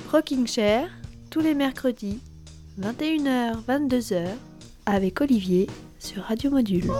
Rocking Chair, tous les mercredis, 21h-22h, avec Olivier sur Radio Module.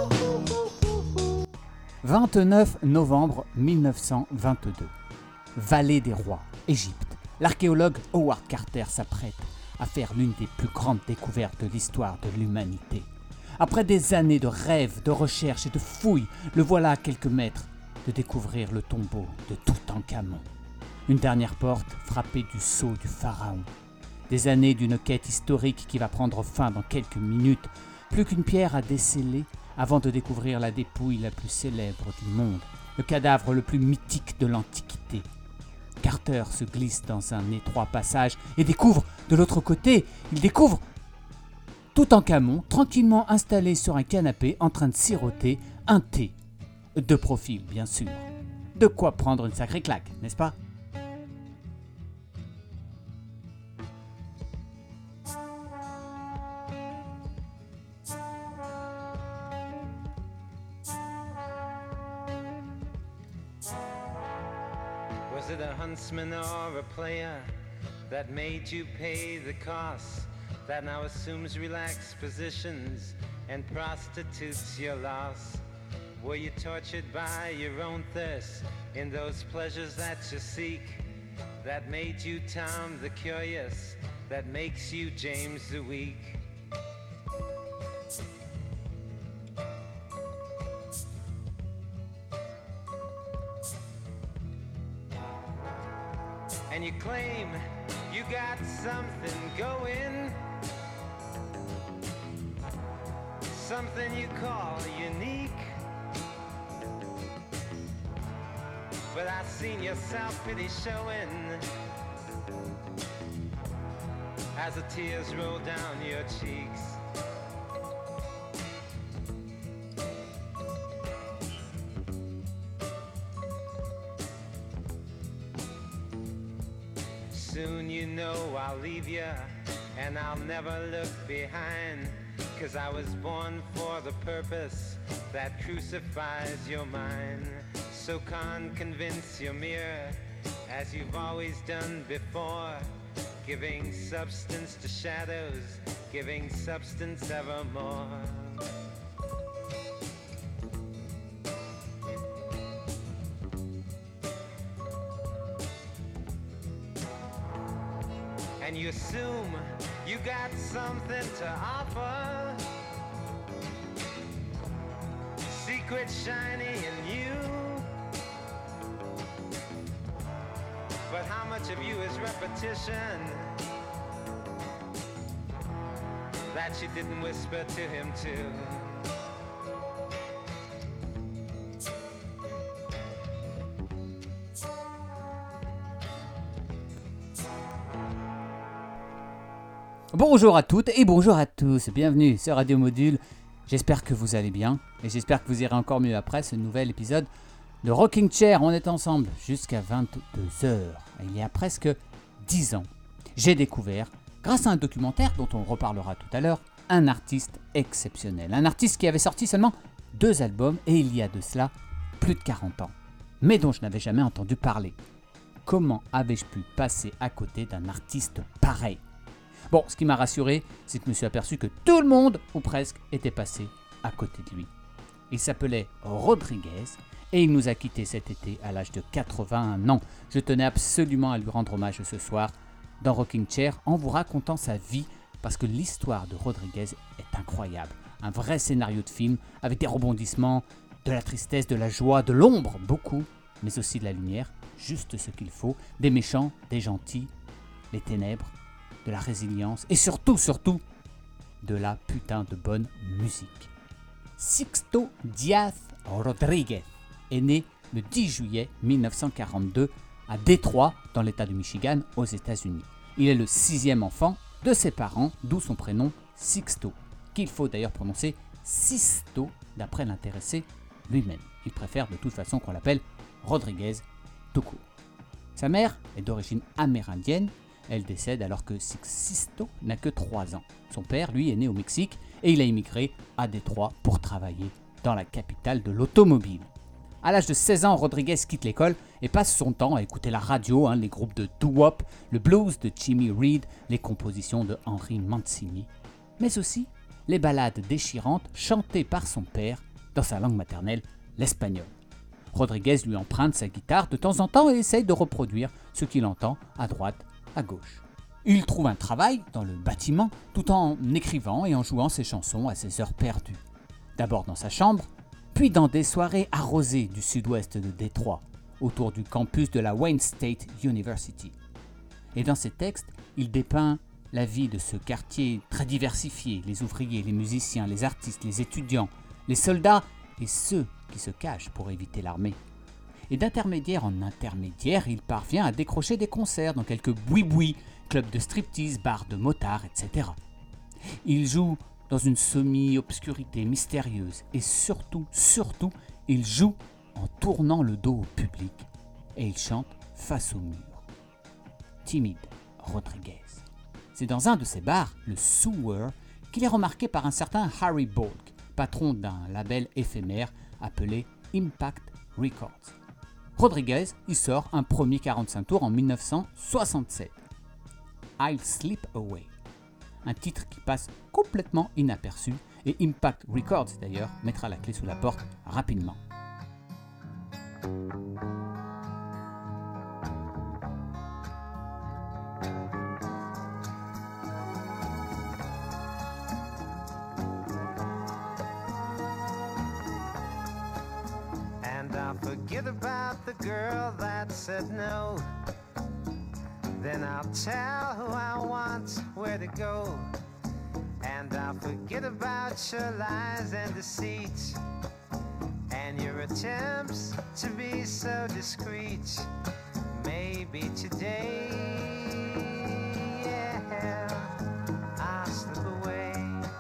29 novembre 1922. Vallée des Rois, Égypte. L'archéologue Howard Carter s'apprête à faire l'une des plus grandes découvertes de l'histoire de l'humanité. Après des années de rêves, de recherches et de fouilles, le voilà à quelques mètres de découvrir le tombeau de Toutankhamon. Une dernière porte frappée du sceau du pharaon. Des années d'une quête historique qui va prendre fin dans quelques minutes. Plus qu'une pierre à déceler avant de découvrir la dépouille la plus célèbre du monde, le cadavre le plus mythique de l'Antiquité. Carter se glisse dans un étroit passage et découvre, de l'autre côté, il découvre Toutankhamon tranquillement installé sur un canapé en train de siroter un thé. De profil, bien sûr. De quoi prendre une sacrée claque, n'est-ce pas ? Was it a huntsman or a player that made you pay the cost, that now assumes relaxed positions and prostitutes your loss? Were you tortured by your own thirst in those pleasures that you seek, that made you Tom the Curious, that makes you James the Weak? And you claim you got something going, something you call unique. But I seen your self-pity showing as the tears roll down your cheeks. Soon you know I'll leave you, and I'll never look behind, 'cause I was born for the purpose that crucifies your mind. So convince your mirror, as you've always done before, giving substance to shadows, giving substance evermore. And you assume you got something to offer, secret shiny in you. But how much of you is repetition that you didn't whisper to him too? Bonjour à toutes et bonjour à tous, bienvenue sur Radio Module. J'espère que vous allez bien et j'espère que vous irez encore mieux après ce nouvel épisode de Rocking Chair. On est ensemble jusqu'à 22h. Il y a presque 10 ans, j'ai découvert, grâce à un documentaire dont on reparlera tout à l'heure, un artiste exceptionnel. Un artiste qui avait sorti seulement 2 albums et il y a de cela plus de 40 ans, mais dont je n'avais jamais entendu parler. Comment avais-je pu passer à côté d'un artiste pareil ? Bon, ce qui m'a rassuré, c'est que je me suis aperçu que tout le monde, ou presque, était passé à côté de lui. Il s'appelait Rodriguez et il nous a quittés cet été à l'âge de 81 ans. Je tenais absolument à lui rendre hommage ce soir dans Rocking Chair en vous racontant sa vie parce que l'histoire de Rodriguez est incroyable. Un vrai scénario de film avec des rebondissements, de la tristesse, de la joie, de l'ombre, beaucoup, mais aussi de la lumière, juste ce qu'il faut, des méchants, des gentils, les ténèbres, de la résilience et surtout, de la putain de bonne musique. Sixto Díaz Rodríguez est né le 10 juillet 1942 à Détroit, dans l'état du Michigan, aux États-Unis. Il est le 6e enfant de ses parents, d'où son prénom Sixto, qu'il faut d'ailleurs prononcer Sisto d'après l'intéressé lui-même. Il préfère de toute façon qu'on l'appelle Rodriguez tout court. Sa mère est d'origine amérindienne. Elle décède alors que Sisto n'a que 3 ans. Son père, lui, est né au Mexique et il a immigré à Détroit pour travailler dans la capitale de l'automobile. À l'âge de 16 ans, Rodriguez quitte l'école et passe son temps à écouter la radio, les groupes de doo-wop, le blues de Jimmy Reed, les compositions de Henry Mancini, mais aussi les ballades déchirantes chantées par son père dans sa langue maternelle, l'espagnol. Rodriguez lui emprunte sa guitare de temps en temps et essaye de reproduire ce qu'il entend à droite, à gauche. Il trouve un travail dans le bâtiment tout en écrivant et en jouant ses chansons à ses heures perdues. D'abord dans sa chambre, puis dans des soirées arrosées du sud-ouest de Détroit, autour du campus de la Wayne State University. Et dans ses textes, il dépeint la vie de ce quartier très diversifié, les ouvriers, les musiciens, les artistes, les étudiants, les soldats et ceux qui se cachent pour éviter l'armée. Et d'intermédiaire en intermédiaire, il parvient à décrocher des concerts dans quelques boui-boui, clubs de striptease, bars de motards, etc. Il joue dans une semi-obscurité mystérieuse et surtout, il joue en tournant le dos au public et il chante face au mur. Timide Rodriguez. C'est dans un de ces bars, le Sewer, qu'il est remarqué par un certain Harry Bolk, patron d'un label éphémère appelé Impact Records. Rodriguez y sort un premier 45 tours en 1967. I'll Slip Away. Un titre qui passe complètement inaperçu et Impact Records d'ailleurs mettra la clé sous la porte rapidement. And I'll forget about the girl that said no. Then I'll tell who I want where to go. And I'll forget about your lies and deceit, and your attempts to be so discreet. Maybe today, yeah, I'll slip away.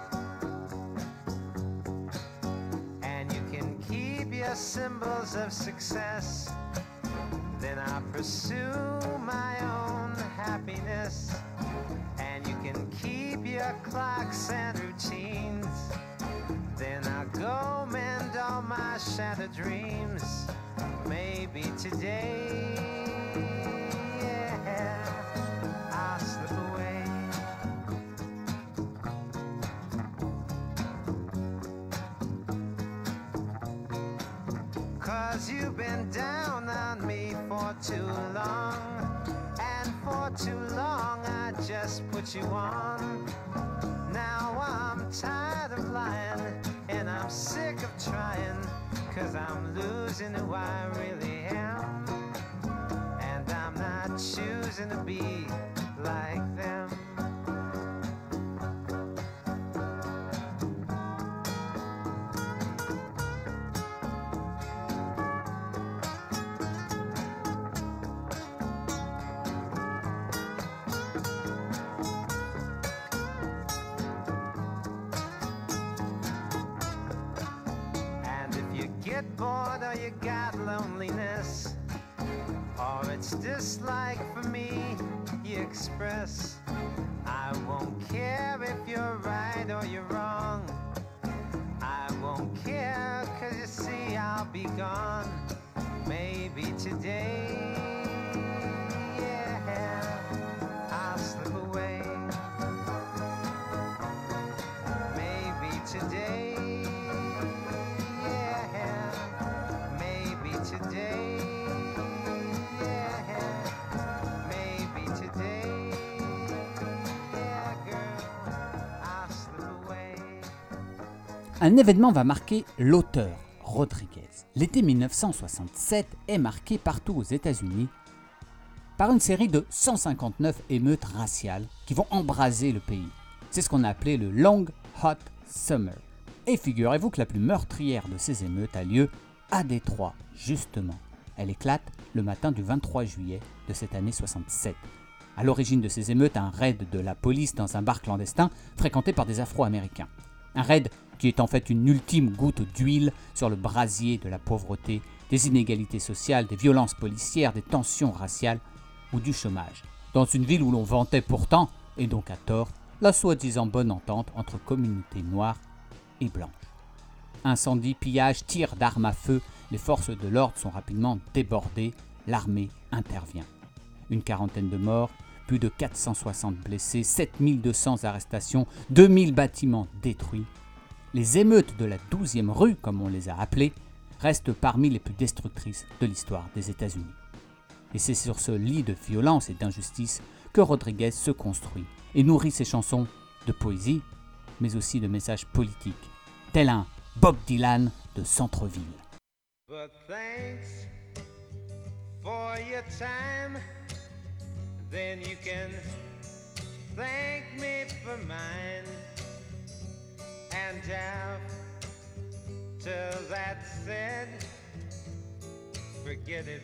And you can keep your symbols of success. Then I'll pursue my own happiness. And you can keep your clocks and routines. Then I'll go mend all my shattered dreams. Maybe today, yeah, I'll slip away. Cause you've been down on me for too long, and for too long I just put you on. Now I'm tired of lying, and I'm sick of trying, cause I'm losing who I really am. And I'm not choosing to be like them. Get bored or you got loneliness, or it's dislike for me you express, I won't care if you're right or you're wrong. I won't care, cause you see I'll be gone. Maybe today, yeah, I'll slip away. Maybe today, today, yeah, maybe today, yeah, girl, I'll slip away. Un événement va marquer l'auteur, Rodriguez. L'été 1967 est marqué partout aux États-Unis par une série de 159 émeutes raciales qui vont embraser le pays. C'est ce qu'on a appelé le Long Hot Summer. Et figurez-vous que la plus meurtrière de ces émeutes a lieu à Détroit, justement. Elle éclate le matin du 23 juillet de cette année 67. À l'origine de ces émeutes, un raid de la police dans un bar clandestin fréquenté par des Afro-Américains. Un raid qui est en fait une ultime goutte d'huile sur le brasier de la pauvreté, des inégalités sociales, des violences policières, des tensions raciales ou du chômage. Dans une ville où l'on vantait pourtant, et donc à tort, la soi-disant bonne entente entre communautés noires et blanches. Incendies, pillages, tirs d'armes à feu, les forces de l'ordre sont rapidement débordées, l'armée intervient. Une quarantaine de morts, plus de 460 blessés, 7200 arrestations, 2000 bâtiments détruits. Les émeutes de la 12e rue, comme on les a appelées, restent parmi les plus destructrices de l'histoire des États-Unis. Et c'est sur ce lit de violence et d'injustice que Rodriguez se construit et nourrit ses chansons de poésie, mais aussi de messages politiques, tel un Bob Dylan de centre-ville. But thanks for your time, then you can thank me for mine. And after that's said, forget it.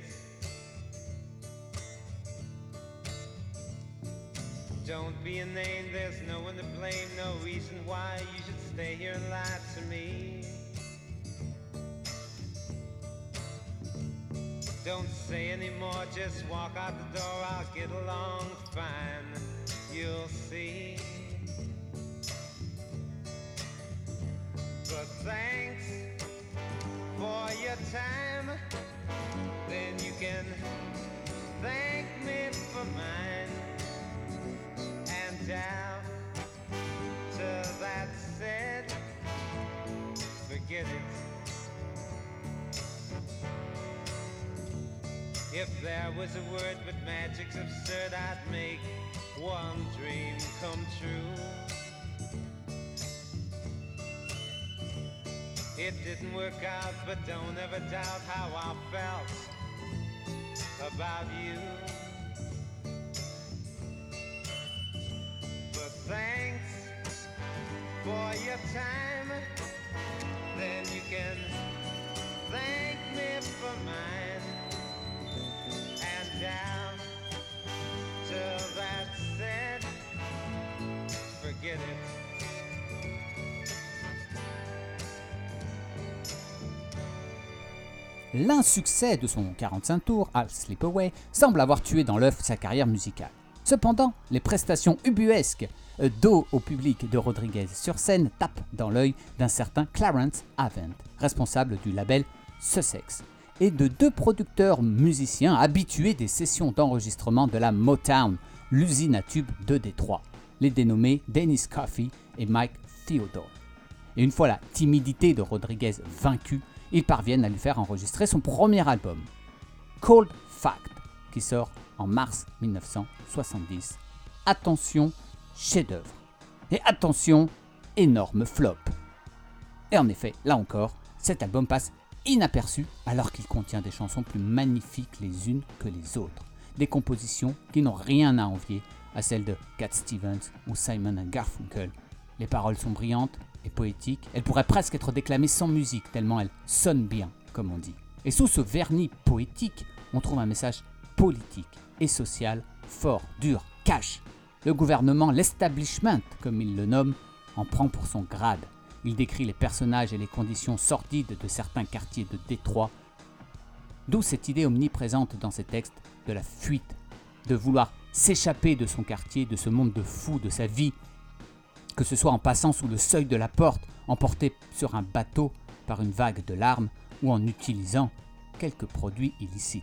Don't be a name, there's no one to blame, no reason why you should stay here and lie to me. Don't say anymore, just walk out the door, I'll get along fine, you'll see. But thanks for your time, then you can thank me for mine. And after that's said, forget it. If there was a word but magic's absurd, I'd make one dream come true. It didn't work out, but don't ever doubt how I felt about you. But thanks for your time, then you can thank me for mine. And down till that's said, forget it. L'insuccès de son 45 tours, I'll Slip Away, semble avoir tué dans l'œuf sa carrière musicale. Cependant, les prestations ubuesques dos au public de Rodriguez sur scène tapent dans l'œil d'un certain Clarence Avant, responsable du label Sussex, et de deux producteurs musiciens habitués des sessions d'enregistrement de la Motown, l'usine à tubes de Détroit, les dénommés Dennis Coffey et Mike Theodore. Et une fois la timidité de Rodriguez vaincue, ils parviennent à lui faire enregistrer son premier album, Cold Fact, qui sort en mars 1970. Attention, chef-d'œuvre. Et attention, énorme flop. Et en effet, là encore, cet album passe inaperçu alors qu'il contient des chansons plus magnifiques les unes que les autres. Des compositions qui n'ont rien à envier à celles de Cat Stevens ou Simon & Garfunkel. Les paroles sont brillantes et poétiques, elles pourraient presque être déclamées sans musique tellement elles sonnent bien, comme on dit. Et sous ce vernis poétique, on trouve un message politique et social fort, dur, cash. Le gouvernement, l'establishment, comme il le nomme, en prend pour son grade. Il décrit les personnages et les conditions sordides de certains quartiers de Détroit. D'où cette idée omniprésente dans ces textes de la fuite, de vouloir s'échapper de son quartier, de ce monde de fous, de sa vie, que ce soit en passant sous le seuil de la porte, emporté sur un bateau par une vague de larmes ou en utilisant quelques produits illicites.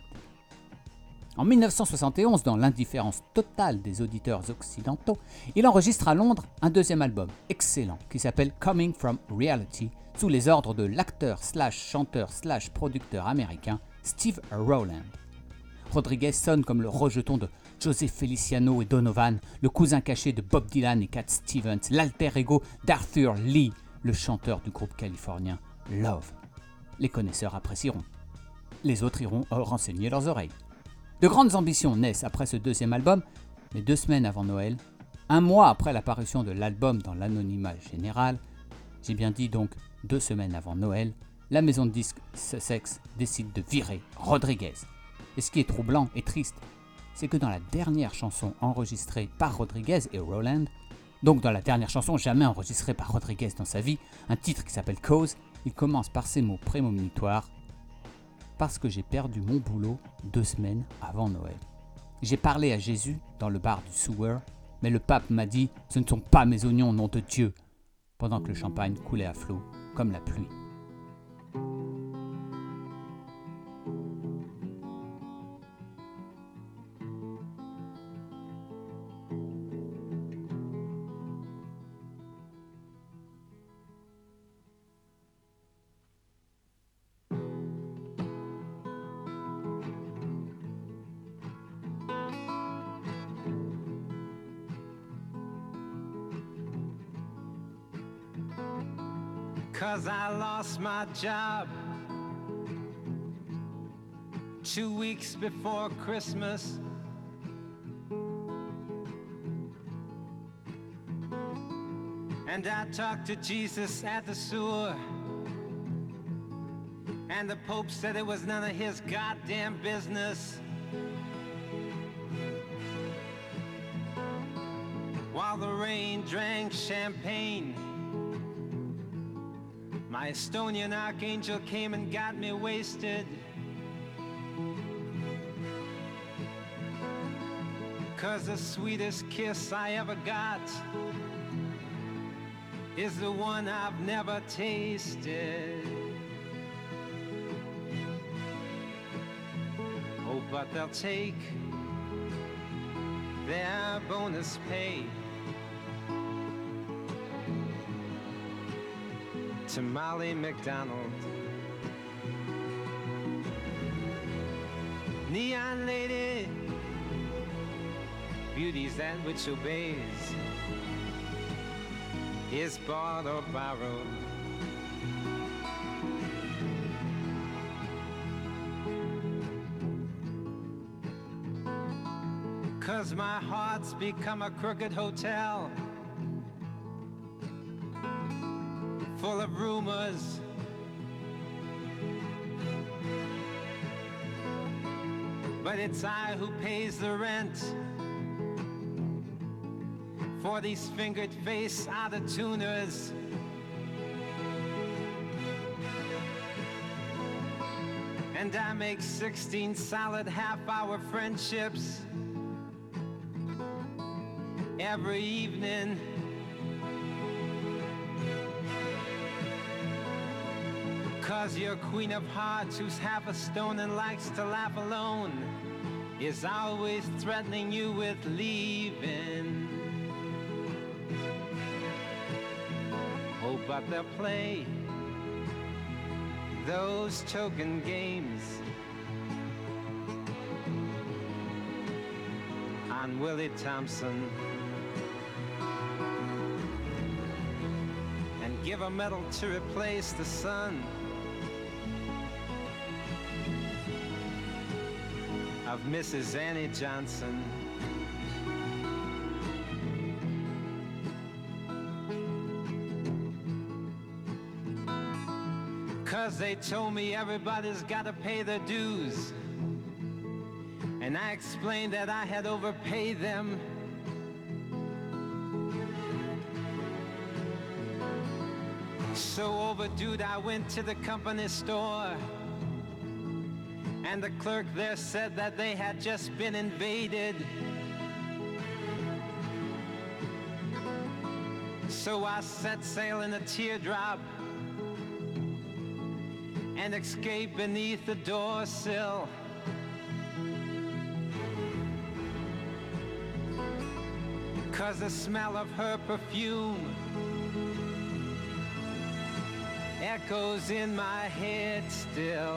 En 1971, dans l'indifférence totale des auditeurs occidentaux, il enregistre à Londres un deuxième album excellent qui s'appelle Coming From Reality sous les ordres de l'acteur/chanteur/producteur américain Steve Rowland. Rodriguez sonne comme le rejeton de José Feliciano et Donovan, le cousin caché de Bob Dylan et Cat Stevens, l'alter ego d'Arthur Lee, le chanteur du groupe californien Love. Les connaisseurs apprécieront. Les autres iront renseigner leurs oreilles. De grandes ambitions naissent après ce deuxième album, mais 2 semaines avant Noël, un mois après l'apparition de l'album dans l'anonymat général, j'ai bien dit donc 2 semaines avant Noël, la maison de disques Sussex décide de virer Rodriguez. Et ce qui est troublant et triste, c'est que dans la dernière chanson enregistrée par Rodriguez et Rowland, donc dans la dernière chanson jamais enregistrée par Rodriguez dans sa vie, un titre qui s'appelle Cause, il commence par ces mots prémonitoires: parce que j'ai perdu mon boulot 2 semaines avant Noël. J'ai parlé à Jésus dans le bar du Sewer, mais le pape m'a dit « Ce ne sont pas mes oignons, nom de Dieu !» pendant que le champagne coulait à flot comme la pluie. 'cause I lost my job 2 weeks before Christmas. And I talked to Jesus at the sewer, and the Pope said it was none of his goddamn business. While the rain drank champagne, my Estonian archangel came and got me wasted. 'Cause the sweetest kiss I ever got is the one I've never tasted. Oh, but they'll take their bonus pay to Molly McDonald. Neon lady, beauty's that which obeys, is bought or borrowed. Cause my heart's become a crooked hotel, full of rumors. But it's I who pays the rent for these fingered face out-of-tuners. And I make 16 solid half-hour friendships every evening. Cause your queen of hearts, who's half a stone and likes to laugh alone, is always threatening you with leaving. Oh, but they'll play those token games on Willie Thompson and give a medal to replace the son of Mrs. Annie Johnson. 'Cause they told me everybody's gotta pay their dues, and I explained that I had overpaid them. So overdue, I went to the company store, and the clerk there said that they had just been invaded. So I set sail in a teardrop and escaped beneath the door sill. 'Cause the smell of her perfume echoes in my head still.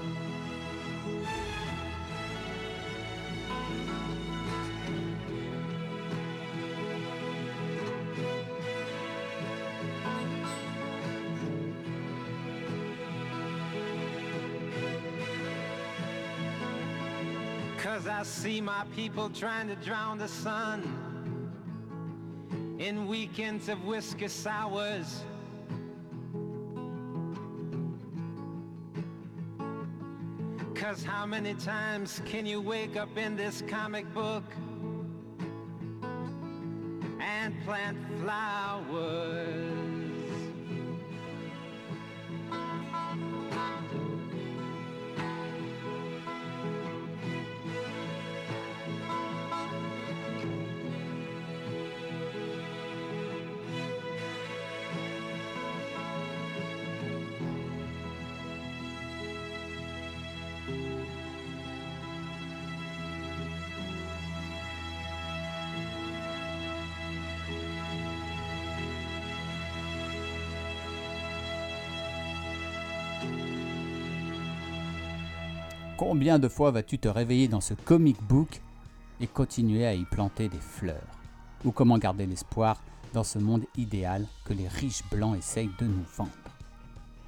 Cause I see my people trying to drown the sun in weekends of whiskey sours. Cause how many times can you wake up in this comic book and plant flowers? Combien de fois vas-tu te réveiller dans ce comic book et continuer à y planter des fleurs? Ou comment garder l'espoir dans ce monde idéal que les riches blancs essayent de nous vendre?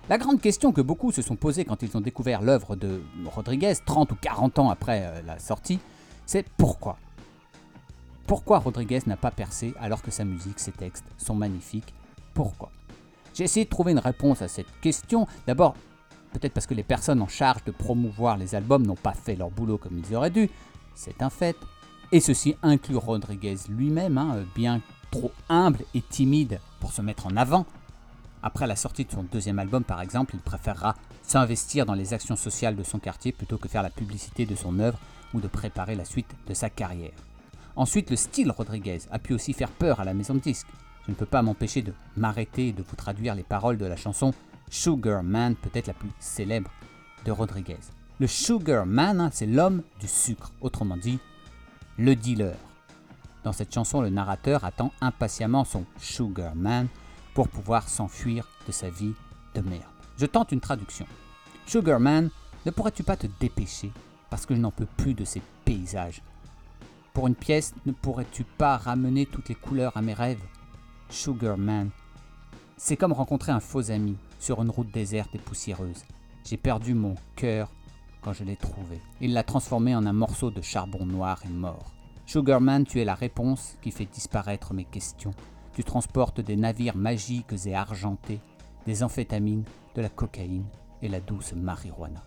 La grande question que beaucoup se sont posées quand ils ont découvert l'œuvre de Rodriguez, 30 ou 40 ans après la sortie, c'est pourquoi ? Pourquoi Rodriguez n'a pas percé alors que sa musique, ses textes sont magnifiques ? Pourquoi ? J'ai essayé de trouver une réponse à cette question. D'abord, peut-être parce que les personnes en charge de promouvoir les albums n'ont pas fait leur boulot comme ils auraient dû, c'est un fait. Et ceci inclut Rodriguez lui-même, bien trop humble et timide pour se mettre en avant. Après la sortie de son deuxième album, par exemple, il préférera s'investir dans les actions sociales de son quartier plutôt que faire la publicité de son œuvre ou de préparer la suite de sa carrière. Ensuite, le style Rodriguez a pu aussi faire peur à la maison de disques. Je ne peux pas m'empêcher de m'arrêter et de vous traduire les paroles de la chanson Sugar Man, peut-être la plus célèbre de Rodriguez. Le Sugar Man, c'est l'homme du sucre, autrement dit, le dealer. Dans cette chanson, le narrateur attend impatiemment son Sugar Man pour pouvoir s'enfuir de sa vie de merde. Je tente une traduction. Sugar Man, ne pourrais-tu pas te dépêcher parce que je n'en peux plus de ces paysages. Pour une pièce, ne pourrais-tu pas ramener toutes les couleurs à mes rêves? Sugar Man. C'est comme rencontrer un faux ami sur une route déserte et poussiéreuse. J'ai perdu mon cœur quand je l'ai trouvé. Il l'a transformé en un morceau de charbon noir et mort. Sugar Man, tu es la réponse qui fait disparaître mes questions. Tu transportes des navires magiques et argentés, des amphétamines, de la cocaïne et la douce marijuana.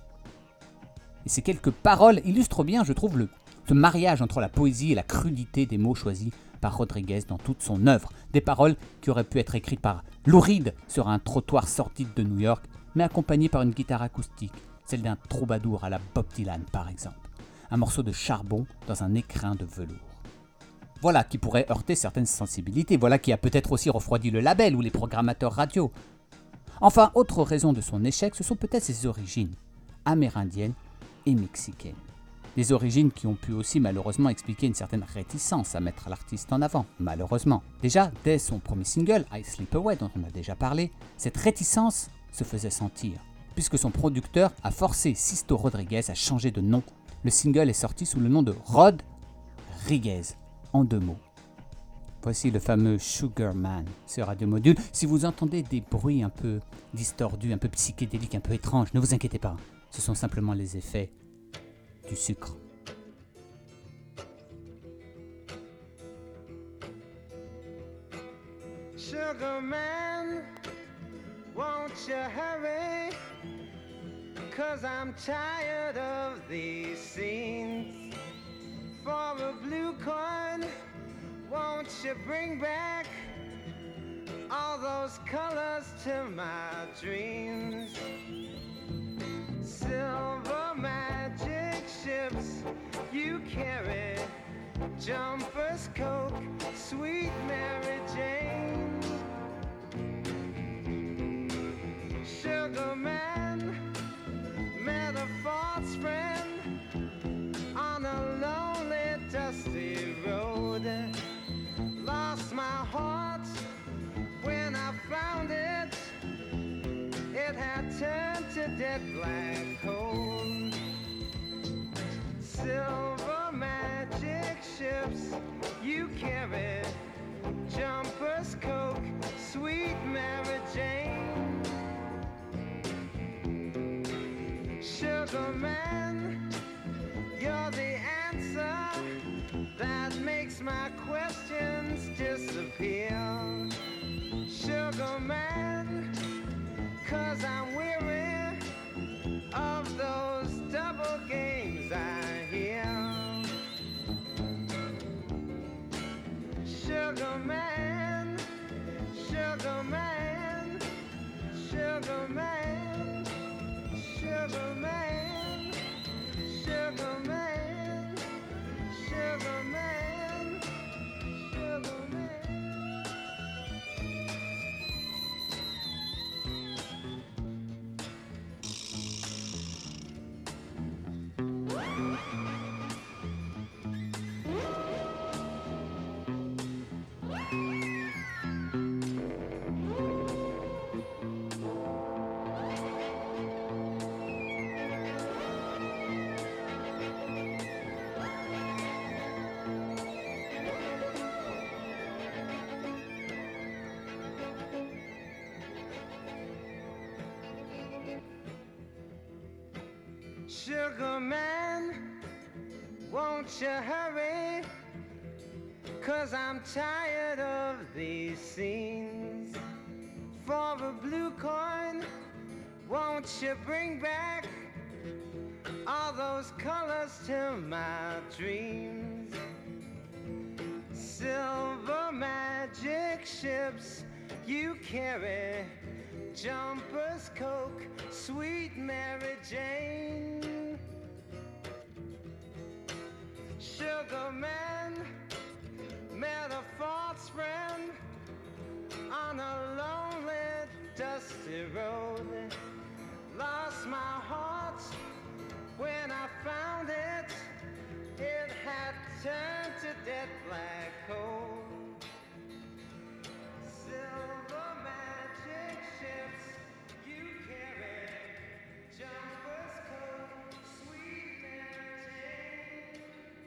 Et ces quelques paroles illustrent bien, je trouve, ce mariage entre la poésie et la crudité des mots choisis par Rodriguez dans toute son œuvre. Des paroles qui auraient pu être écrites par Lou Reed sur un trottoir sordide de New York, mais accompagnées par une guitare acoustique, celle d'un troubadour à la Bob Dylan par exemple. Un morceau de charbon dans un écrin de velours. Voilà qui pourrait heurter certaines sensibilités, voilà qui a peut-être aussi refroidi le label ou les programmateurs radio. Enfin, autre raison de son échec, ce sont peut-être ses origines, amérindiennes et mexicaines. Des origines qui ont pu aussi malheureusement expliquer une certaine réticence à mettre l'artiste en avant, malheureusement. Déjà, dès son premier single, I Sleep Away, dont on a déjà parlé, cette réticence se faisait sentir, puisque son producteur a forcé Sisto Rodriguez à changer de nom. Le single est sorti sous le nom de Rodriguez, en 2 mots. Voici le fameux Sugar Man sur Radio Module. Si vous entendez des bruits un peu distordus, un peu psychédéliques, un peu étranges, ne vous inquiétez pas, ce sont simplement les effets du sucre. Sugar man, won't you hurry? 'Cause I'm tired of these scenes. For a blue coin, won't you bring back all those colors to my dreams? Silver magic ships you carry, jumpers, Coke, sweet Mary Jane. Sugar man, met a false friend on a lonely, dusty road. Lost my heart when I found it. It had turned to dead black coal. Silver magic ships you carry, jumpers, Coke, sweet Mary Jane. Sugar man, you're the answer that makes my questions disappear. Sugar man, 'cause I'm weary of those double games I hear. Sugar man, sugar man, sugar man, sugar man, sugar man, sugar man, sugar man. Sugar man, won't you hurry? 'Cause I'm tired of these scenes. For a blue coin, won't you bring back all those colors to my dreams? Silver magic ships you carry, Jumpers, Coke, sweet Mary Jane. Sugar man met a false friend on a lonely, dusty road. Lost my heart when I found it. It had turned to dead black coal. Silver magic ships you carry, Jumpers, Coke, sweet Mary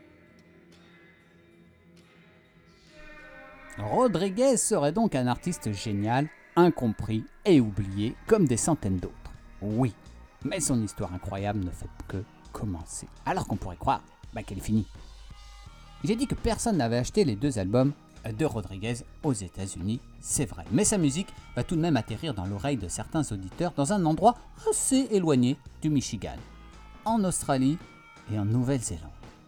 Jane. Rodriguez serait donc un artiste génial, incompris et oublié comme des centaines d'autres. Oui, mais son histoire incroyable ne fait que commencer. Alors qu'on pourrait croire qu'elle est finie. J'ai dit que personne n'avait acheté les 2 albums de Rodriguez aux États-Unis, c'est vrai. Mais sa musique va tout de même atterrir dans l'oreille de certains auditeurs dans un endroit assez éloigné du Michigan, en Australie et en Nouvelle-Zélande.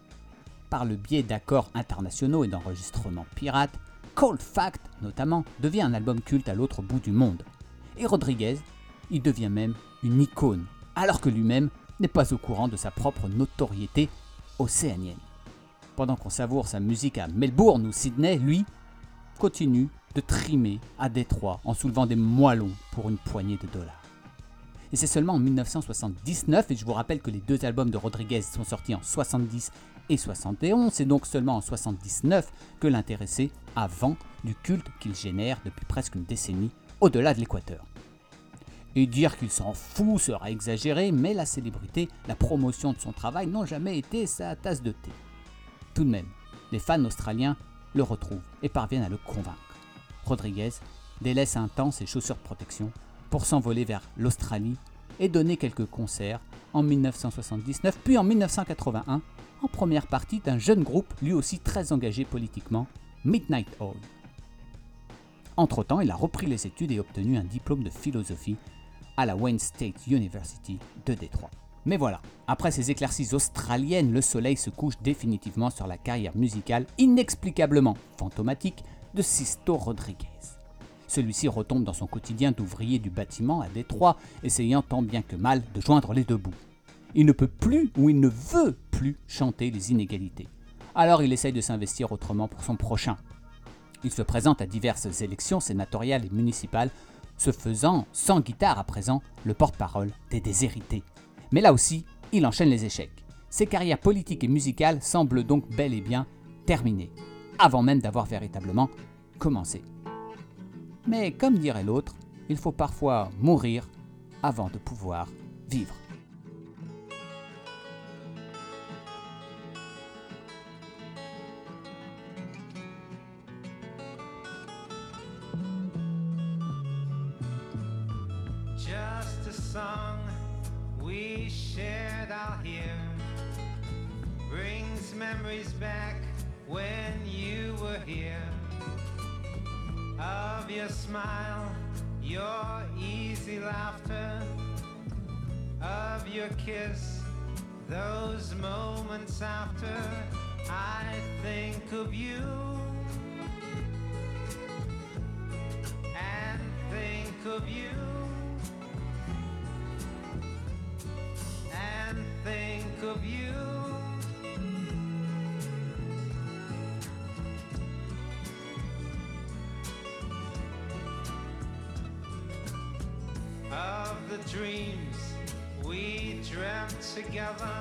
Par le biais d'accords internationaux et d'enregistrements pirates, Cold Fact, notamment, devient un album culte à l'autre bout du monde. Et Rodriguez, il devient même une icône, alors que lui-même n'est pas au courant de sa propre notoriété océanienne. Pendant qu'on savoure sa musique à Melbourne ou Sydney, lui continue de trimer à Détroit en soulevant des moellons pour une poignée de dollars. Et c'est seulement en 1979, et je vous rappelle que les 2 albums de Rodriguez sont sortis en 70 et 71, c'est donc seulement en 79 que l'intéressé a vent du culte qu'il génère depuis presque une décennie au-delà de l'équateur. Et dire qu'il s'en fout sera exagéré, mais la célébrité, la promotion de son travail n'ont jamais été sa tasse de thé. Tout de même, les fans australiens le retrouvent et parviennent à le convaincre. Rodriguez délaisse un temps ses chaussures de protection pour s'envoler vers l'Australie et donner quelques concerts en 1979 puis en 1981 en première partie d'un jeune groupe lui aussi très engagé politiquement, Midnight Oil. Entre-temps, il a repris les études et obtenu un diplôme de philosophie à la Wayne State University de Détroit. Mais voilà, après ces éclaircies australiennes, le soleil se couche définitivement sur la carrière musicale inexplicablement fantomatique de Sisto Rodriguez. Celui-ci retombe dans son quotidien d'ouvrier du bâtiment à Détroit, essayant tant bien que mal de joindre les 2 bouts. Il ne peut plus ou il ne veut plus chanter les inégalités. Alors il essaye de s'investir autrement pour son prochain. Il se présente à diverses élections sénatoriales et municipales, se faisant, sans guitare à présent, le porte-parole des déshérités. Mais là aussi, il enchaîne les échecs. Ses carrières politiques et musicales semblent donc bel et bien terminées, avant même d'avoir véritablement commencé. Mais comme dirait l'autre, il faut parfois mourir avant de pouvoir vivre. Just a song we shared out here brings memories back when you were here. Of your smile, your easy laughter, of your kiss, those moments after. I think of you and think of you and think of you. Of the dreams we dreamt together,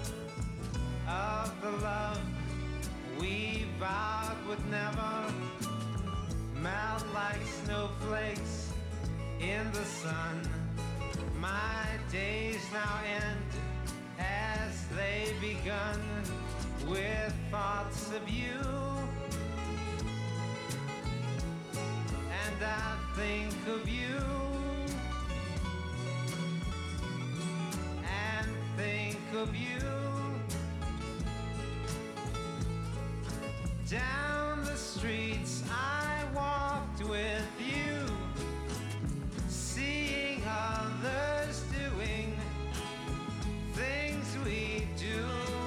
of the love we vowed would never melt like snowflakes in the sun. My days now end as they begun with thoughts of you, and I think of you and think of you. Down the streets I walked with you, seeing others doing things we do.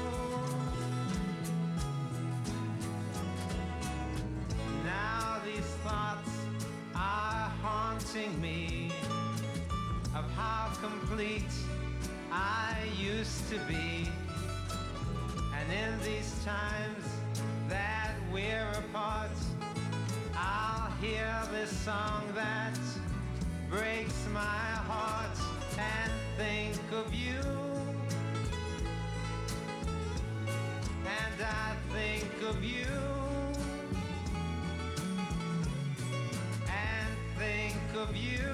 Now these thoughts are haunting me, of how complete I used to be. And in these times that we're apart, I'll hear this song that breaks my heart and think of you. And I think of you. And think of you.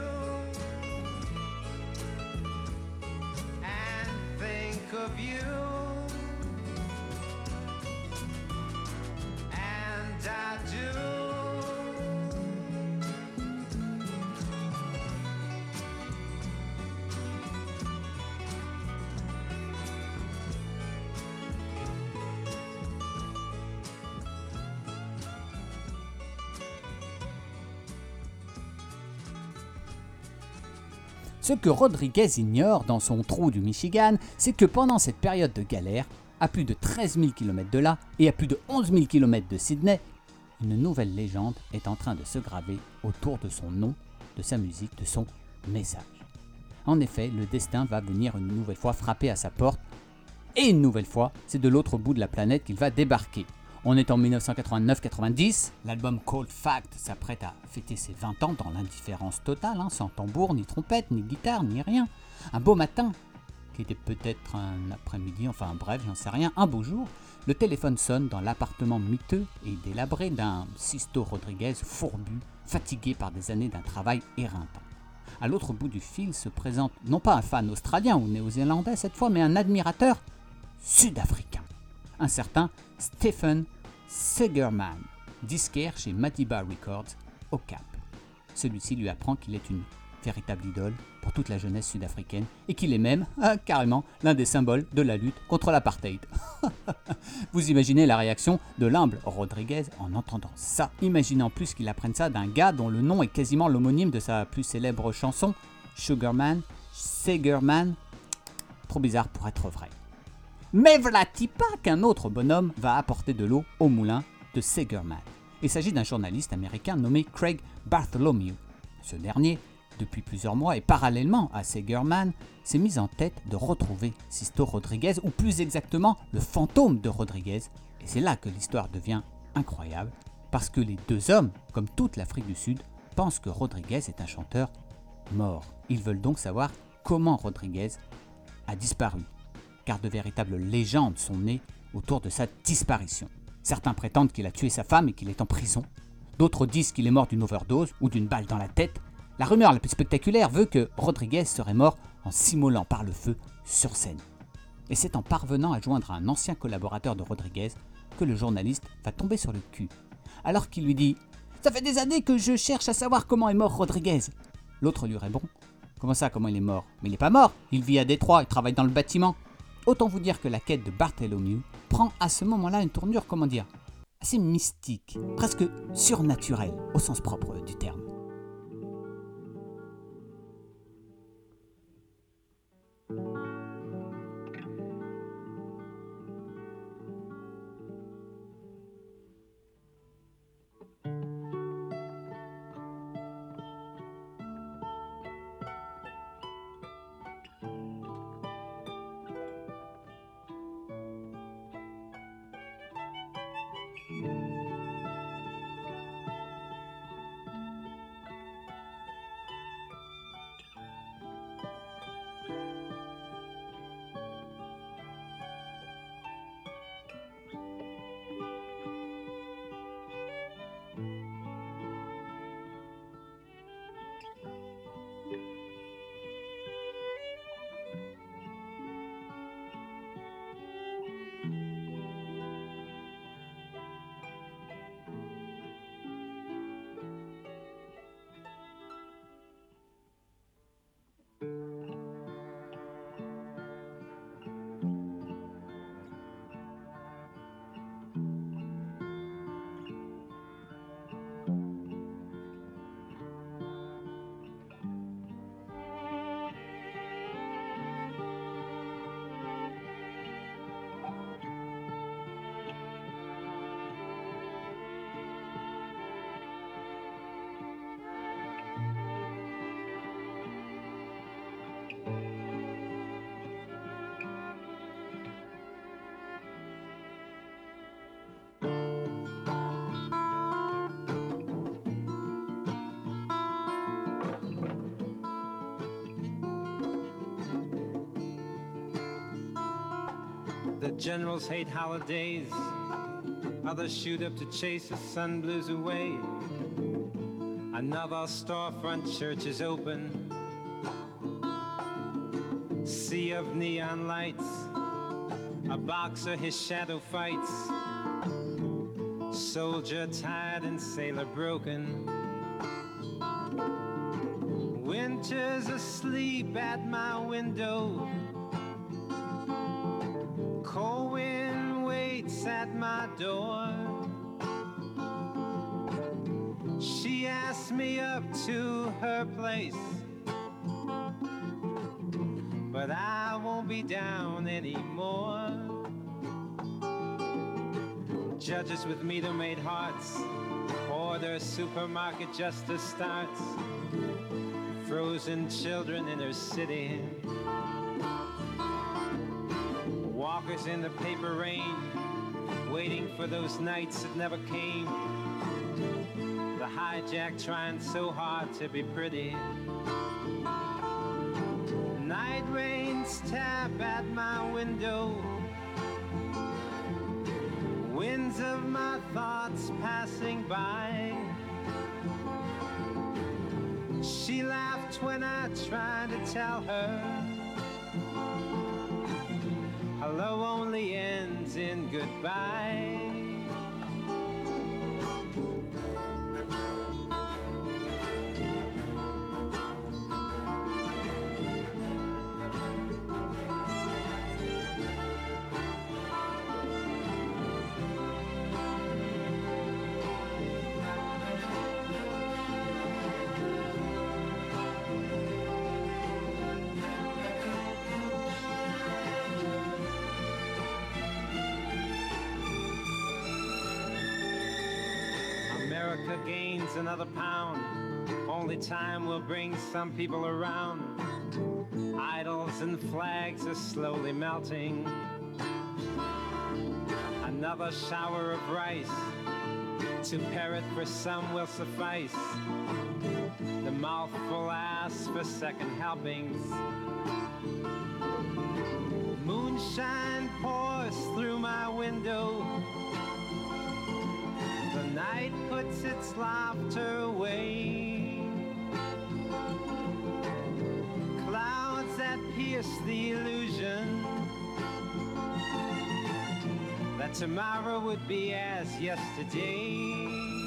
And think of you. And I do. Ce que Rodriguez ignore dans son trou du Michigan, c'est que pendant cette période de galère, à plus de 13 000 km de là et à plus de 11 000 km de Sydney, une nouvelle légende est en train de se graver autour de son nom, de sa musique, de son message. En effet, le destin va venir une nouvelle fois frapper à sa porte, et une nouvelle fois, c'est de l'autre bout de la planète qu'il va débarquer. On est en 1989-90, l'album Cold Fact s'apprête à fêter ses 20 ans dans l'indifférence totale, sans tambour, ni trompette, ni guitare, ni rien. Un beau matin, qui était peut-être un après-midi, enfin bref, j'en sais rien, un beau jour, le téléphone sonne dans l'appartement miteux et délabré d'un Sisto Rodriguez fourbu, fatigué par des années d'un travail éreintant. À l'autre bout du fil se présente non pas un fan australien ou néo-zélandais cette fois, mais un admirateur sud-africain. Un certain Stephen Segerman, disquaire chez Madiba Records au Cap. Celui-ci lui apprend qu'il est une véritable idole pour toute la jeunesse sud-africaine et qu'il est même, carrément, l'un des symboles de la lutte contre l'apartheid. Vous imaginez la réaction de l'humble Rodriguez en entendant ça. Imaginez en plus qu'il apprenne ça d'un gars dont le nom est quasiment l'homonyme de sa plus célèbre chanson, Sugarman, Segerman. Trop bizarre pour être vrai. Mais voilà-t-il pas qu'un autre bonhomme va apporter de l'eau au moulin de Segerman. Il s'agit d'un journaliste américain nommé Craig Bartholomew. Ce dernier, depuis plusieurs mois et parallèlement à Segerman, s'est mis en tête de retrouver Sisto Rodriguez, ou plus exactement le fantôme de Rodriguez. Et c'est là que l'histoire devient incroyable, parce que les deux hommes, comme toute l'Afrique du Sud, pensent que Rodriguez est un chanteur mort. Ils veulent donc savoir comment Rodriguez a disparu, car de véritables légendes sont nées autour de sa disparition. Certains prétendent qu'il a tué sa femme et qu'il est en prison. D'autres disent qu'il est mort d'une overdose ou d'une balle dans la tête. La rumeur la plus spectaculaire veut que Rodriguez serait mort en s'immolant par le feu sur scène. Et c'est en parvenant à joindre un ancien collaborateur de Rodriguez que le journaliste va tomber sur le cul. Alors qu'il lui dit « Ça fait des années que je cherche à savoir comment est mort Rodriguez !» L'autre lui répond « Comment ça, comment il est mort ? Mais il n'est pas mort, il vit à Détroit, il travaille dans le bâtiment. » Autant vous dire que la quête de Bartholomew prend à ce moment-là une tournure, assez mystique, presque surnaturelle, au sens propre du terme. The generals hate holidays, others shoot up to chase the sun blues away. Another storefront church is open, sea of neon lights, a boxer his shadow fights, soldier tired and sailor broken. Winter's asleep at my window, cold wind waits at my door. She asked me up to her place, but I won't be down anymore. Judges with meter-made hearts, order supermarket justice starts. Frozen children in her city, walkers in the paper rain, waiting for those nights that never came. The hijack trying so hard to be pretty. Night rains tap at my window, winds of my thoughts passing by. She laughed when I tried to tell her hello only ends in goodbye. America gains another pound. Only time will bring some people around. Idols and flags are slowly melting. Another shower of rice to parrot for some will suffice. The mouthful asks for second helpings. Moonshine pours through my window. The night puts its laughter away. Clouds that pierce the illusion that tomorrow would be as yesterday.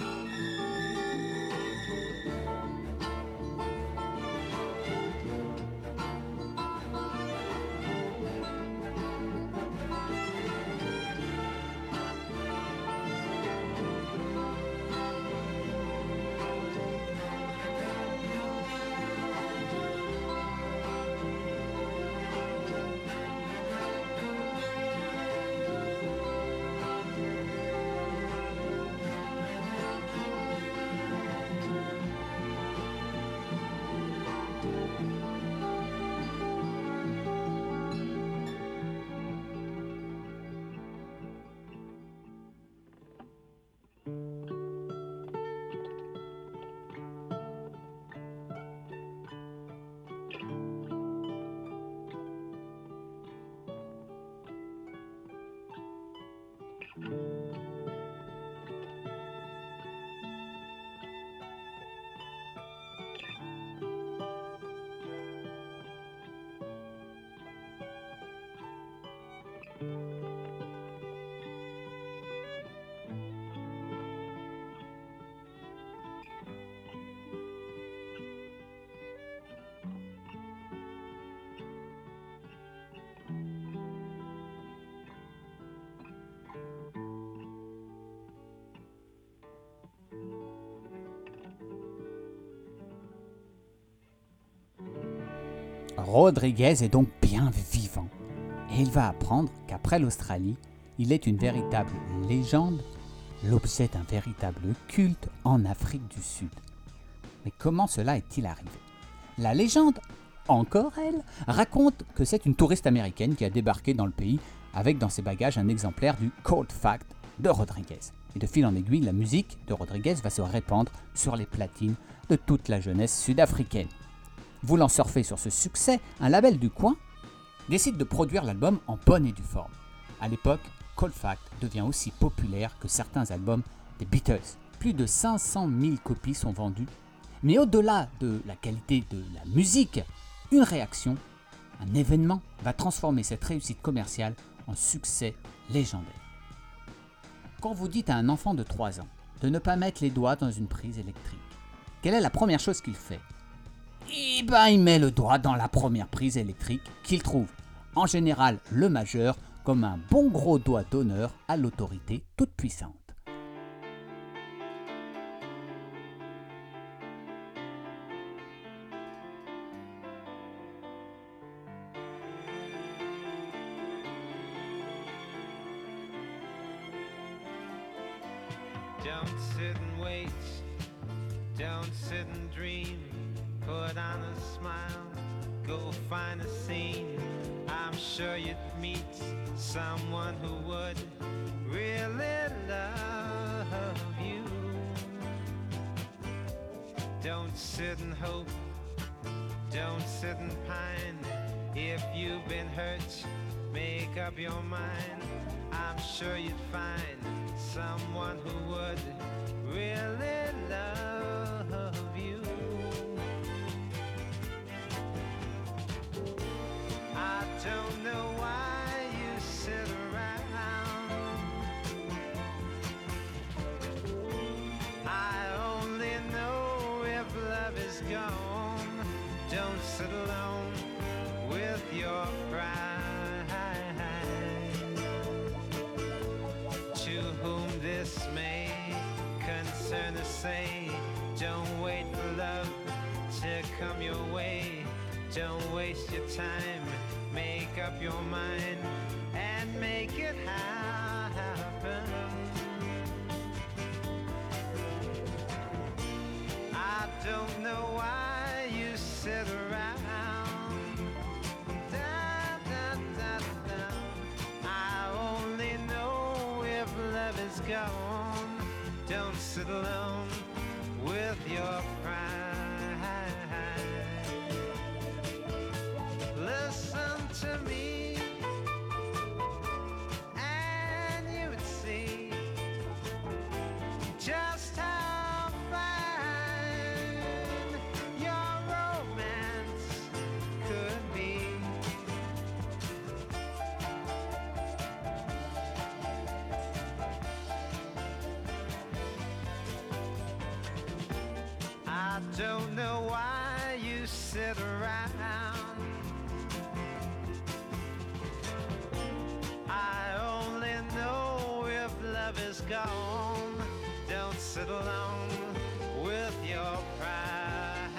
Rodriguez est donc bien vivant et il va apprendre qu'après l'Australie, il est une véritable légende, l'objet d'un véritable culte en Afrique du Sud. Mais comment cela est-il arrivé ? La légende, encore elle, raconte que c'est une touriste américaine qui a débarqué dans le pays avec dans ses bagages un exemplaire du Cold Fact de Rodriguez. Et de fil en aiguille, la musique de Rodriguez va se répandre sur les platines de toute la jeunesse sud-africaine. Voulant surfer sur ce succès, un label du coin décide de produire l'album en bonne et due forme. À l'époque, Cold Fact devient aussi populaire que certains albums des Beatles. Plus de 500 000 copies sont vendues. Mais au-delà de la qualité de la musique, une réaction, un événement va transformer cette réussite commerciale en succès légendaire. Quand vous dites à un enfant de 3 ans de ne pas mettre les doigts dans une prise électrique, quelle est la première chose qu'il fait ? Eh ben, il met le doigt dans la première prise électrique qu'il trouve, en général le majeur, comme un bon gros doigt d'honneur à l'autorité toute puissante. Don't sit and wait, don't sit and dream, put on a smile, go find a scene. I'm sure you'd meet someone who would really love you. Don't sit and hope, don't sit and pine. If you've been hurt, make up your mind. I'm sure you'd find someone who would really love you. I don't know why you sit around. I only know if love is gone. Don't sit alone with your pride. To whom this may concern to say, don't wait for love to come your way. Don't waste your time, make up your mind and make it happen. I don't know why you sit around. Da, da, da, da. I only know if love is gone. Don't sit alone with your pride. Listen to me, and you would see just how fine your romance could be. I don't know why you sit around. I only know if love is gone. Don't sit alone with your pride.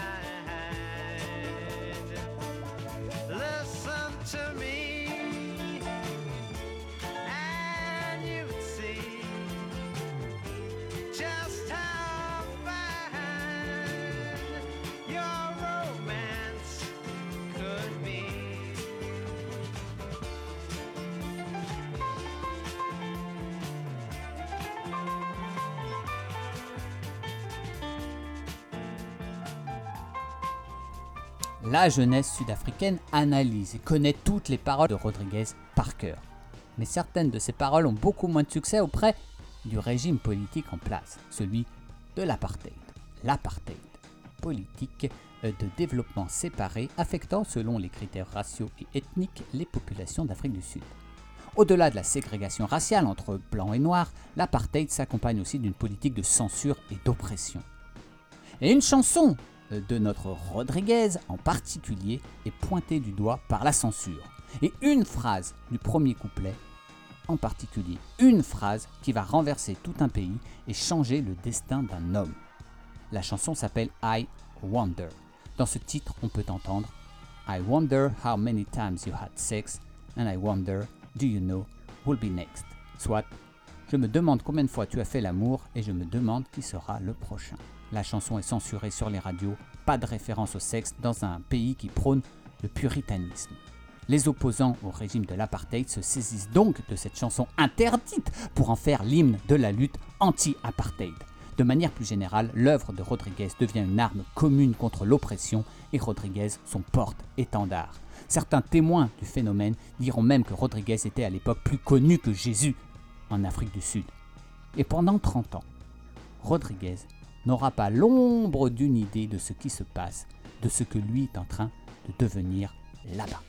Listen to me, and you would see just how fine your romance could be. La jeunesse sud-africaine analyse et connaît toutes les paroles de Rodriguez par cœur. Mais certaines de ces paroles ont beaucoup moins de succès auprès du régime politique en place, celui de l'apartheid. L'apartheid, politique de développement séparé affectant selon les critères raciaux et ethniques les populations d'Afrique du Sud. Au-delà de la ségrégation raciale entre blancs et noirs, l'apartheid s'accompagne aussi d'une politique de censure et d'oppression. Et une chanson de notre Rodriguez en particulier est pointée du doigt par la censure. Et une phrase du premier couplet en particulier, une phrase qui va renverser tout un pays et changer le destin d'un homme. La chanson s'appelle I Wonder. Dans ce titre, on peut entendre I wonder how many times you had sex and I wonder, do you know who'll be next? Soit, je me demande combien de fois tu as fait l'amour et je me demande qui sera le prochain. La chanson est censurée sur les radios, pas de référence au sexe dans un pays qui prône le puritanisme. Les opposants au régime de l'apartheid se saisissent donc de cette chanson interdite pour en faire l'hymne de la lutte anti-apartheid. De manière plus générale, l'œuvre de Rodriguez devient une arme commune contre l'oppression et Rodriguez son porte-étendard. Certains témoins du phénomène diront même que Rodriguez était à l'époque plus connu que Jésus en Afrique du Sud. Et pendant 30 ans, Rodriguez n'aura pas l'ombre d'une idée de ce qui se passe, de ce que lui est en train de devenir là-bas.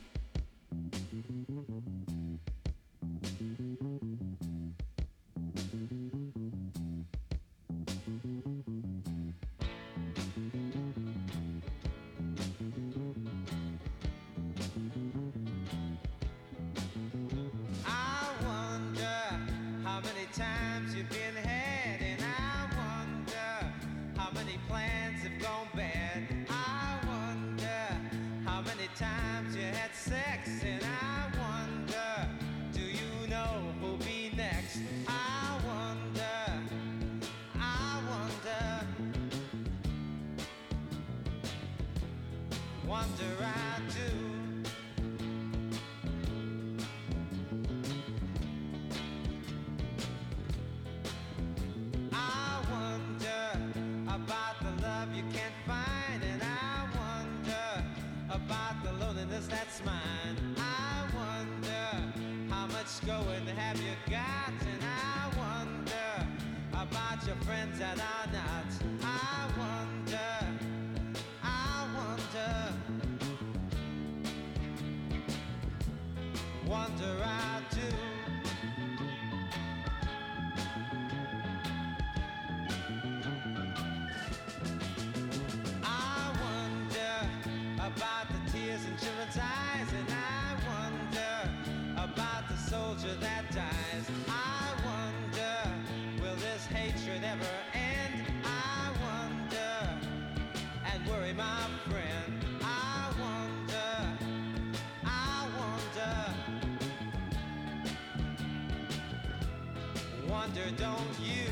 Don't you?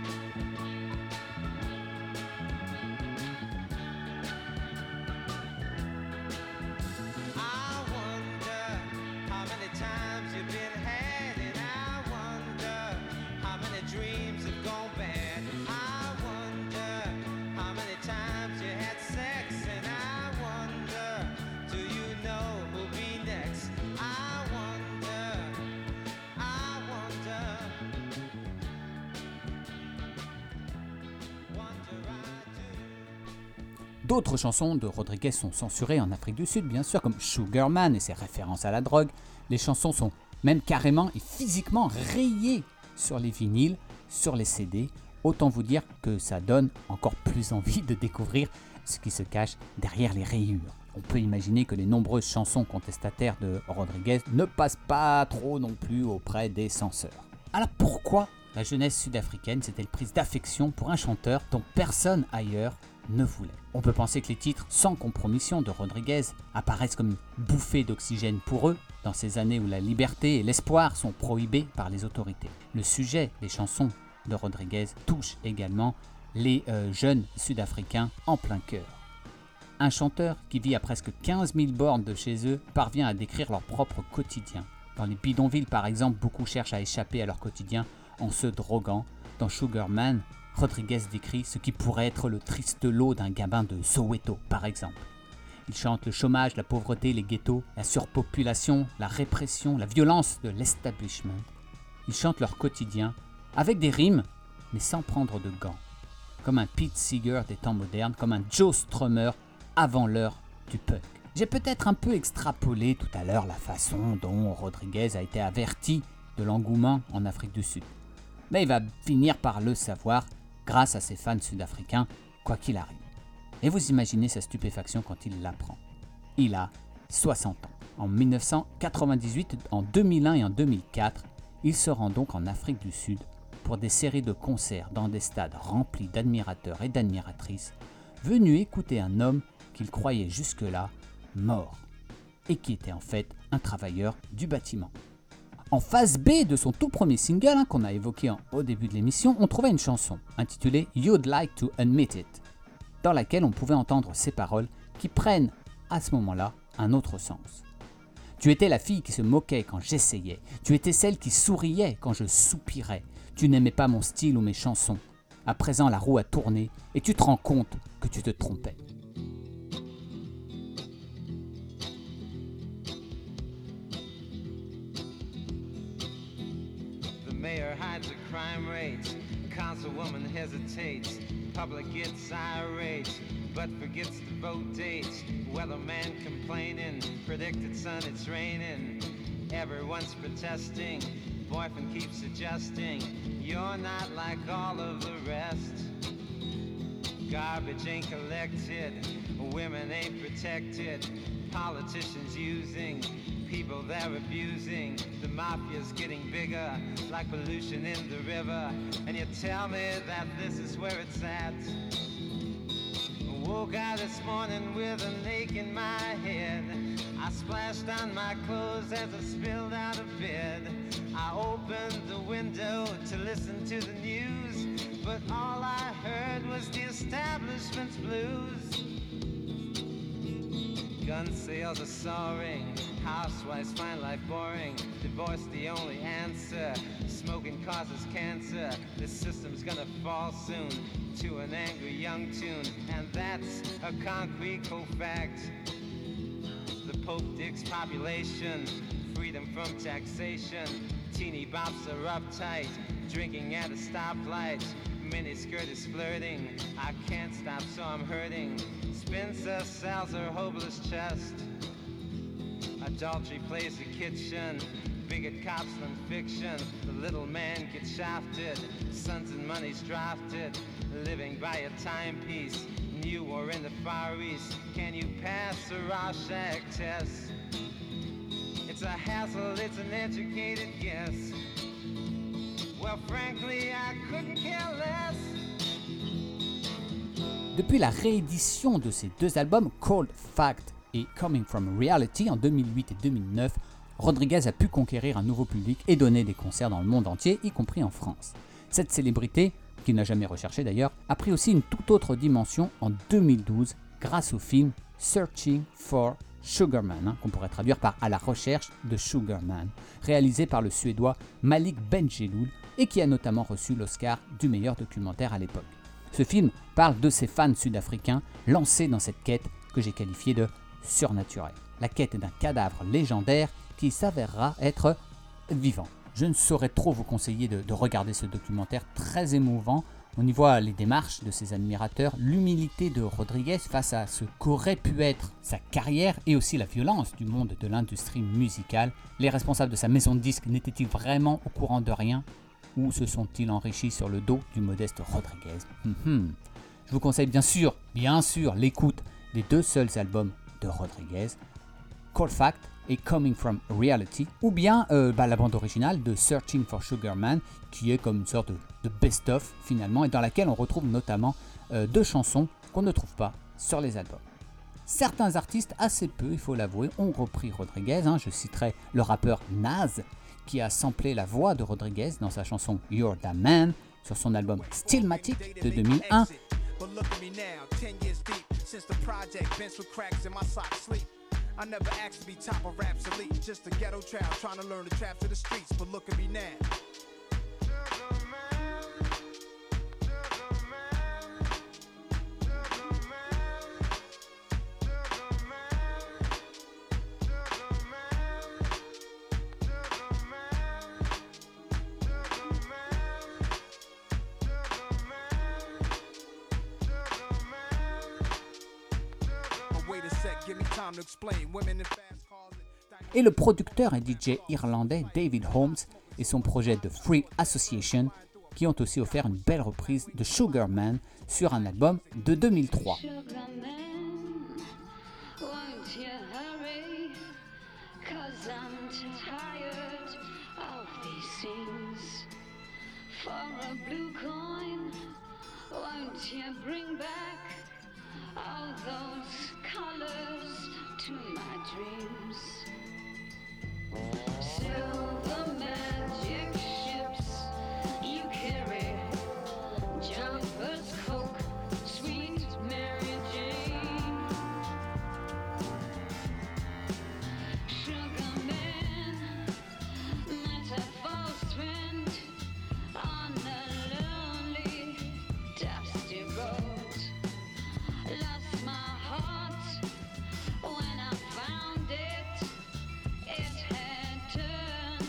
I wonder how many times you've been had, and I wonder how many dreams have gone bad. I wonder how many times you had sex, and I wonder, do you know who'll be next? I wonder, I wonder. D'autres chansons de Rodriguez sont censurées en Afrique du Sud, bien sûr, comme Sugar Man et ses références à la drogue. Les chansons sont même carrément et physiquement rayées sur les vinyles, sur les CD. Autant vous dire que ça donne encore plus envie de découvrir ce qui se cache derrière les rayures. On peut imaginer que les nombreuses chansons contestataires de Rodriguez ne passent pas trop non plus auprès des censeurs. Alors pourquoi la jeunesse sud-africaine s'est-elle prise d'affection pour un chanteur dont personne ailleurs ne voulait? On peut penser que les titres sans compromission de Rodriguez apparaissent comme une bouffée d'oxygène pour eux dans ces années où la liberté et l'espoir sont prohibés par les autorités. Le sujet des chansons de Rodriguez touche également les jeunes sud-africains en plein cœur. Un chanteur qui vit à presque 15 000 bornes de chez eux parvient à décrire leur propre quotidien. Dans les bidonvilles par exemple, beaucoup cherchent à échapper à leur quotidien en se droguant. Dans Sugar Man, Rodriguez décrit ce qui pourrait être le triste lot d'un gamin de Soweto, par exemple. Il chante le chômage, la pauvreté, les ghettos, la surpopulation, la répression, la violence de l'establishment. Ils chantent leur quotidien avec des rimes, mais sans prendre de gants. Comme un Pete Seeger des temps modernes, comme un Joe Strummer avant l'heure du punk. J'ai peut-être un peu extrapolé tout à l'heure la façon dont Rodriguez a été averti de l'engouement en Afrique du Sud. Mais il va finir par le savoir grâce à ses fans sud-africains, quoi qu'il arrive. Et vous imaginez sa stupéfaction quand il l'apprend. Il a 60 ans. En 1998, en 2001 et en 2004, il se rend donc en Afrique du Sud pour des séries de concerts dans des stades remplis d'admirateurs et d'admiratrices, venus écouter un homme qu'il croyait jusque-là mort, et qui était en fait un travailleur du bâtiment. En phase B de son tout premier single, qu'on a évoqué au début de l'émission, on trouvait une chanson intitulée You'd Like to Admit It, dans laquelle on pouvait entendre ces paroles qui prennent à ce moment-là un autre sens. Tu étais la fille qui se moquait quand j'essayais, tu étais celle qui souriait quand je soupirais, tu n'aimais pas mon style ou mes chansons. À présent la roue a tourné et tu te rends compte que tu te trompais. crime rate. Councilwoman hesitates, public gets irate, but forgets the vote dates. Weatherman complaining, predicted sun it's raining. Everyone's protesting, boyfriend keeps adjusting. You're not like all of the rest. Garbage ain't collected, women ain't protected. Politicians using, people they're abusing. The mafia's getting bigger, like pollution in the river. And you tell me that this is where it's at. Woke out this morning with an ache in my head. I splashed on my clothes as I spilled out of bed. I opened the window to listen to the news, but all I heard was the establishment's blues. Gun sales are soaring, housewives find life boring. Divorce the only answer, smoking causes cancer. This system's gonna fall soon to an angry young tune, and that's a concrete cold fact. The Pope digs population, freedom from taxation. Teeny bops are uptight, drinking at a stoplight. Miniskirt is flirting, I can't stop so I'm hurting. Spencer sells her hopeless chest. Adultery plays the kitchen, bigot cops than fiction. The little man gets shafted, sons and money's drafted. Living by a timepiece, new or in the Far East. Can you pass a Rorschach test? It's a hassle, it's an educated guess. Well, frankly, I couldn't care less. Depuis la réédition de ces deux albums, Cold Fact et Coming From Reality en 2008 et 2009, Rodriguez a pu conquérir un nouveau public et donner des concerts dans le monde entier, y compris en France. Cette célébrité, qu'il n'a jamais recherchée d'ailleurs, a pris aussi une toute autre dimension en 2012 grâce au film Searching for Sugar Man, qu'on pourrait traduire par À la recherche de Sugar Man, réalisé par le Suédois Malik Bendjelloul et qui a notamment reçu l'Oscar du meilleur documentaire à l'époque. Ce film parle de ces fans sud-africains lancés dans cette quête que j'ai qualifiée de surnaturelle. La quête d'un cadavre légendaire qui s'avérera être vivant. Je ne saurais trop vous conseiller de regarder ce documentaire très émouvant. On y voit les démarches de ses admirateurs, l'humilité de Rodriguez face à ce qu'aurait pu être sa carrière et aussi la violence du monde de l'industrie musicale. Les responsables de sa maison de disques n'étaient-ils vraiment au courant de rien ou se sont-ils enrichis sur le dos du modeste Rodriguez? Je vous conseille bien sûr, l'écoute des deux seuls albums de Rodriguez, Cold Fact et Coming From Reality, ou bien la bande originale de Searching for Sugar Man, qui est comme une sorte de best-of finalement, et dans laquelle on retrouve notamment deux chansons qu'on ne trouve pas sur les albums. Certains artistes, assez peu il faut l'avouer, ont repris Rodriguez. Je citerai le rappeur Nas, qui a samplé la voix de Rodriguez dans sa chanson You're the Man sur son album Stillmatic de 2001. But look at me now, 10 years deep since the project, bench with cracks in my sock sleep. I never asked to be top of Rap's elite, just a ghetto child trying to learn the traps of the streets. But look at me now. Et le producteur et DJ irlandais David Holmes et son projet de Free Association qui ont aussi offert une belle reprise de Sugar Man sur un album de 2003. All those colors to my dreams. Silver magic ships you carry, jumpers, Coke, sweet Mary Jane. Sugar man, metaphor strand on a lonely, dusty road. Lost my heart when I found it. It had turned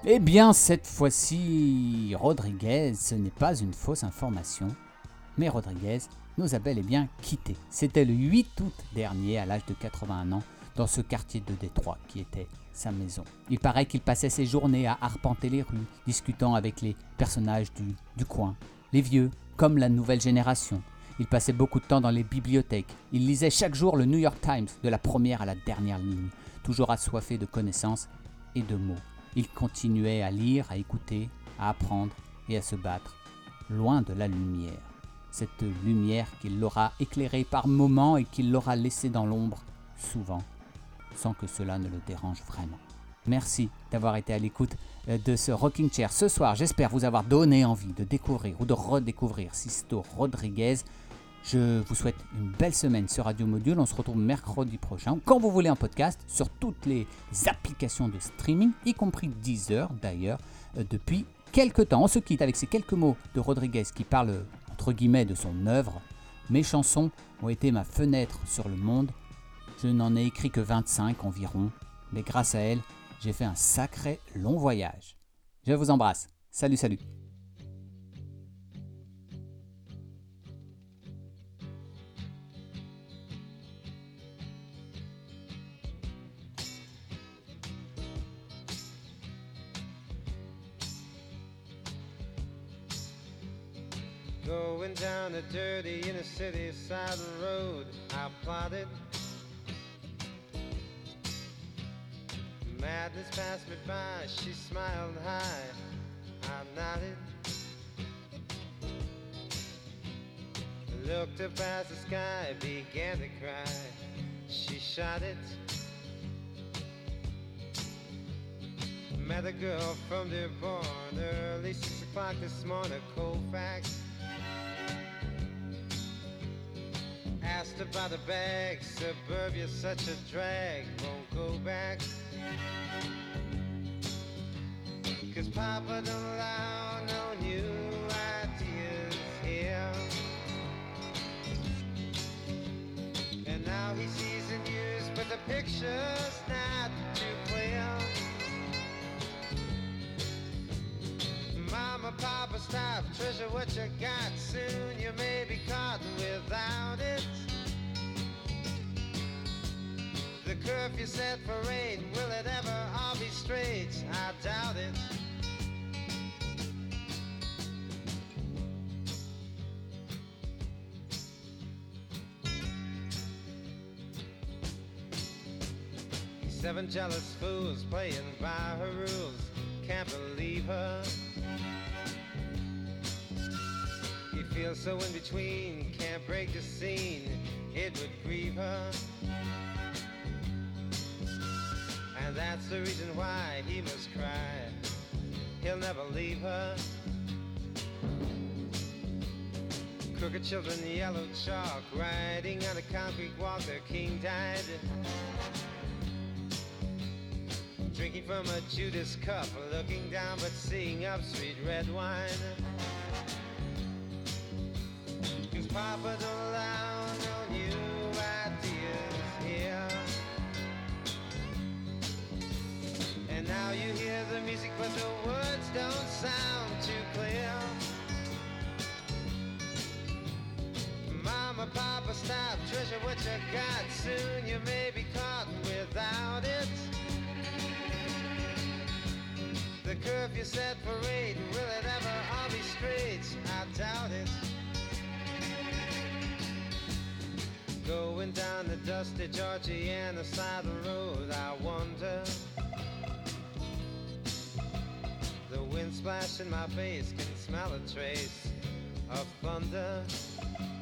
Eh bien, cette fois-ci, Rodriguez, ce n'est pas une fausse information, mais Rodriguez nous a bel et bien quittés. C'était le 8 août dernier, à l'âge de 81 ans, dans ce quartier de Détroit qui était sa maison. Il paraît qu'il passait ses journées à arpenter les rues, discutant avec les personnages du coin, les vieux comme la nouvelle génération. Il passait beaucoup de temps dans les bibliothèques. Il lisait chaque jour le New York Times, de la première à la dernière ligne, toujours assoiffé de connaissances et de mots. Il continuait à lire, à écouter, à apprendre et à se battre, loin de la lumière. Cette lumière qui l'aura éclairé par moments et qui l'aura laissé dans l'ombre, souvent, sans que cela ne le dérange vraiment. Merci d'avoir été à l'écoute de ce Rocking Chair ce soir. J'espère vous avoir donné envie de découvrir ou de redécouvrir Sisto Rodriguez. Je vous souhaite une belle semaine sur Radio Module. On se retrouve mercredi prochain, quand vous voulez, en podcast, sur toutes les applications de streaming, y compris Deezer d'ailleurs, depuis quelques temps. On se quitte avec ces quelques mots de Rodriguez qui parle, entre guillemets, de son œuvre. Mes chansons ont été ma fenêtre sur le monde. Je n'en ai écrit que 25 environ, mais grâce à elles, j'ai fait un sacré long voyage. Je vous embrasse. Salut, salut. Going down a dirty inner city side road, I plotted. Madness passed me by, she smiled high, I nodded. Looked up as the sky began to cry, she shot it. Met a girl from Dearborn, early 6 o'clock this morning, Colfax. Asked about a bag, suburbia's such a drag, won't go back. Cause Papa don't allow no new ideas here. And now he sees the news, but the picture's not too clear. Mama, Papa, stop, treasure what you got. Soon you may be caught without it. The curfew set for 8, will it ever all be straight? I doubt it. Seven jealous fools playing by her rules, can't believe her. He feels so in between, can't break the scene, it would grieve her. And that's the reason why he must cry, he'll never leave her. Crooked children, yellow chalk, riding on a concrete walk, their king died. Drinking from a Judas cup, looking down but seeing up, sweet red wine. Cause Papa don't allow no new ideas here. And now you hear the music but the words don't sound too clear. Mama, Papa, stop, treasure what you got. Soon you may be caught without it. The curfew set for 8, will it ever all be straight? I doubt it. Going down the dusty Georgiana side of the road, I wonder. The wind splash in my face, can smell a trace of thunder.